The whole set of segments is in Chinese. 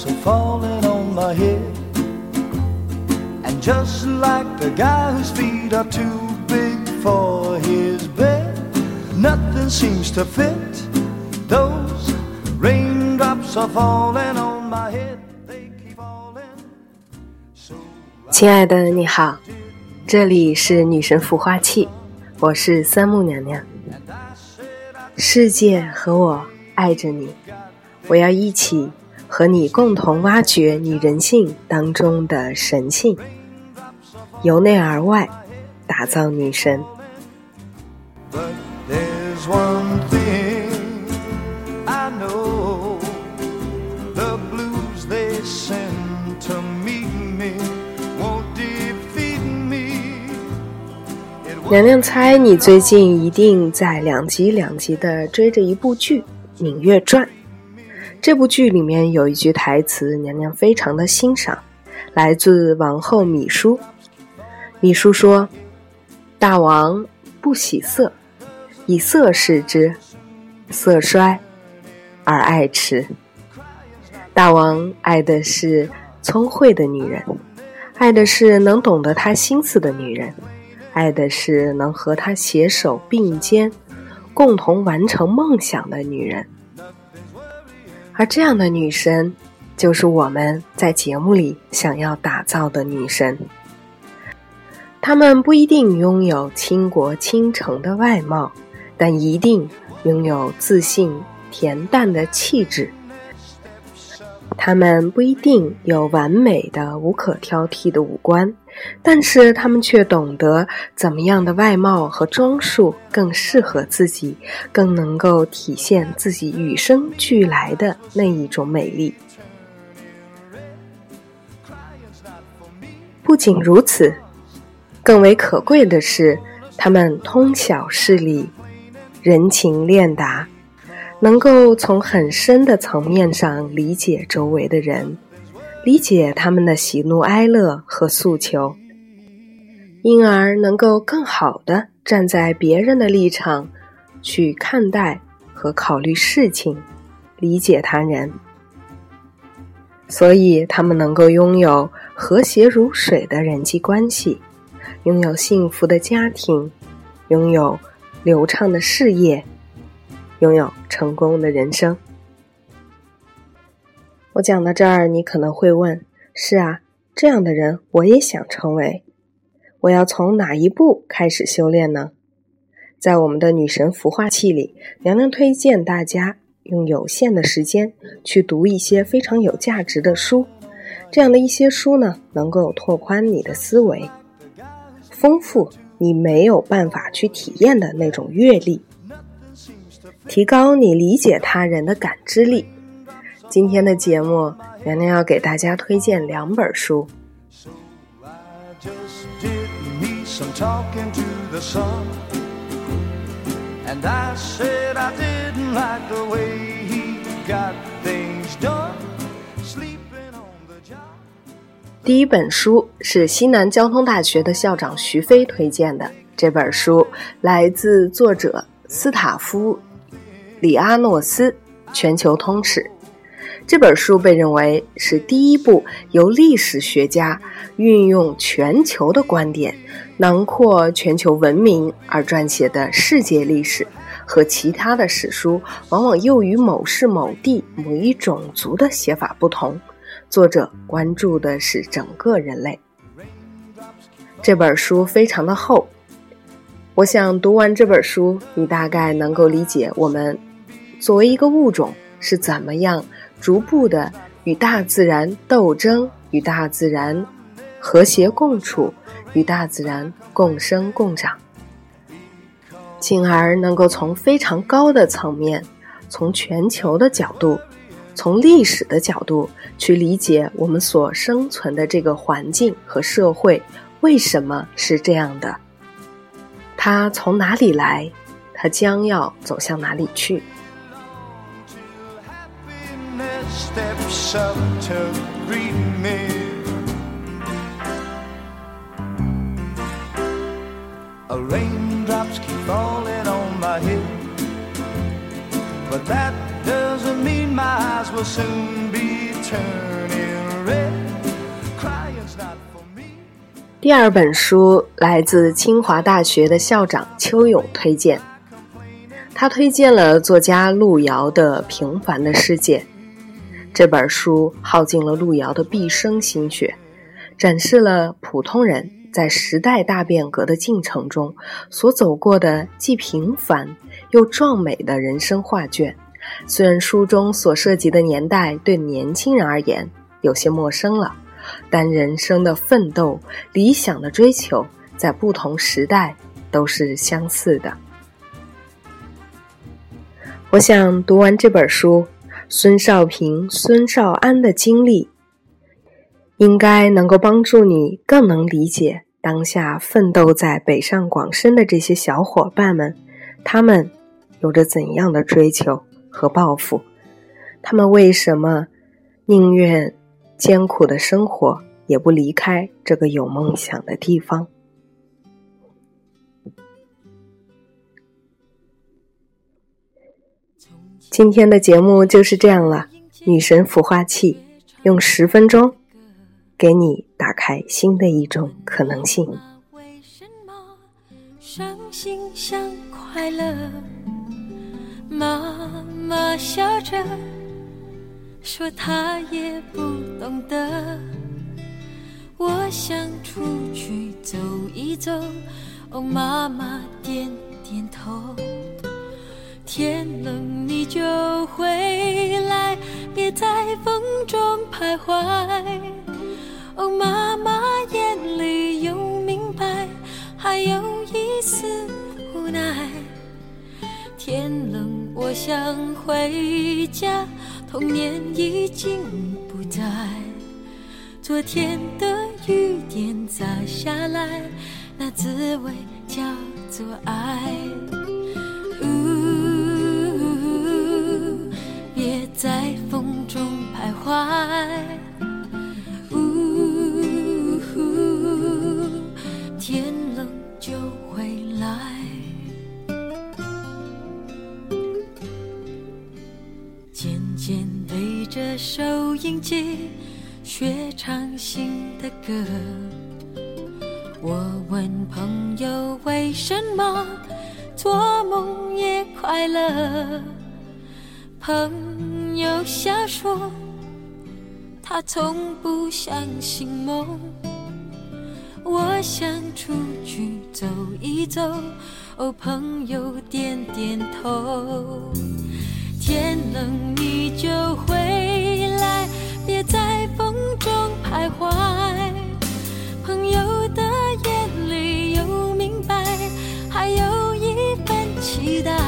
are falling on my head. And just like the guy whose feet are too big for his bed, nothing seems to fit. Those raindrops are falling on my head. They keep falling. 亲爱的你好，这里是女神孵化器，我是三木娘娘。世界和我爱着你，我要一起和你共同挖掘你人性当中的神性，由内而外打造女神。 But there's one thing I know, the blues they send to meet me won't defeat me. 娘娘猜你最近一定在两集的追着一部剧《芈月传》。这部剧里面有一句台词，娘娘非常的欣赏，来自王后芈姝。芈姝说：大王不喜色，以色视之，色衰而爱弛。大王爱的是聪慧的女人，爱的是能懂得他心思的女人，爱的是能和他携手并肩共同完成梦想的女人。而这样的女神就是我们在节目里想要打造的女神。她们不一定拥有倾国倾城的外貌，但一定拥有自信恬淡的气质。她们不一定有完美的无可挑剔的五官，但是她们却懂得怎么样的外貌和装束更适合自己，更能够体现自己与生俱来的那一种美丽。不仅如此，更为可贵的是，她们通晓事理，人情练达，能够从很深的层面上理解周围的人，理解他们的喜怒哀乐和诉求，因而能够更好地站在别人的立场去看待和考虑事情，理解他人。所以他们能够拥有和谐如水的人际关系，拥有幸福的家庭，拥有流畅的事业，拥有成功的人生。我讲到这儿，你可能会问，是啊，这样的人我也想成为，我要从哪一步开始修炼呢？在我们的女神孵化器里，娘娘推荐大家用有限的时间去读一些非常有价值的书，这样的一些书呢，能够拓宽你的思维，丰富你没有办法去体验的那种阅历，提高你理解他人的感知力。今天的节目，娘娘要给大家推荐2本书。第一本书是西南交通大学的校长徐飞推荐的，这本书来自作者斯塔夫里阿诺斯，全球通史。这本书被认为是第一部由历史学家运用全球的观点，囊括全球文明而撰写的世界历史，和其他的史书往往又与某市某地某一种族的写法不同，作者关注的是整个人类。这本书非常的厚，我想读完这本书，你大概能够理解我们作为一个物种是怎么样逐步的与大自然斗争，与大自然和谐共处，与大自然共生共长，进而能够从非常高的层面，从全球的角度，从历史的角度去理解我们所生存的这个环境和社会为什么是这样的，它从哪里来，它将要走向哪里去。 Steps up to greet me. Raindrops keep falling on my head, but that does doesn't mean my eyes will soon be turning red. Crying's not for me. 第二本书来自清华大学的校长邱勇推荐，他推荐了作家路遥的《平凡的世界》。这本书耗尽了路遥的毕生心血，展示了普通人在时代大变革的进程中所走过的既平凡又壮美的人生画卷。虽然书中所涉及的年代对年轻人而言有些陌生了，但人生的奋斗、理想的追求在不同时代都是相似的。我想读完这本书，孙少平、孙少安的经历应该能够帮助你更能理解当下奋斗在北上广深的这些小伙伴们，他们有着怎样的追求和抱负，他们为什么宁愿艰苦的生活也不离开这个有梦想的地方。今天的节目就是这样了，女神孵化器用10分钟给你打开新的一种可能性。 为什么伤心像快乐？妈妈笑着说她也不懂得，我想出去走一走，哦，妈妈点点头。天冷你就回来，别在风中徘徊，哦，妈妈眼里有明白，还有一丝无奈。天冷我想回家，童年已经不在，昨天的雨点洒下来，那滋味叫做爱。别在风中徘徊，天冷就回来。渐渐对着收音机学唱新的歌，我问朋友为什么做梦也快乐，朋友笑说他从不相信梦，我想出去走一走，哦，朋友点点头。天冷你就回来，别在风中徘徊，朋友的眼里有明白，还有一份期待。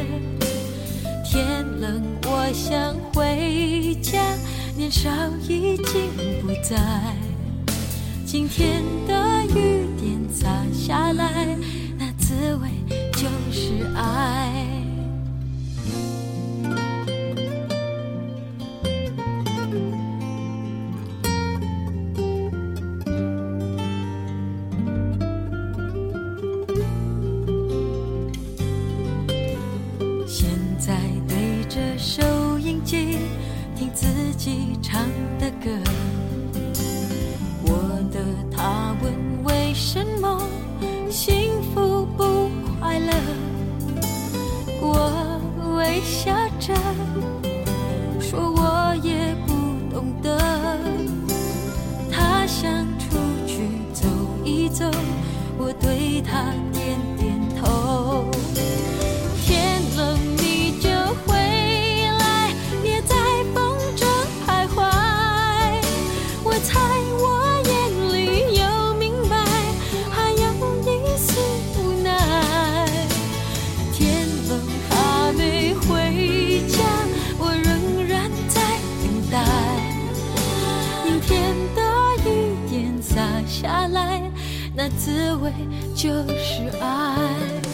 天冷我想回家，年少已经不在，今天的雨点洒下来，那滋味就是爱。现在对着收音机听自己唱的歌，我的他问为什么幸福不快乐，我微笑着说我也不懂得，他想出去走一走，我对他点点头。天冷你就回来，别在风中徘徊，我猜我眼里有明白，还有一丝无奈。天冷还没回家，我仍然在等待，明天的雨点洒下来，那滋味就是爱。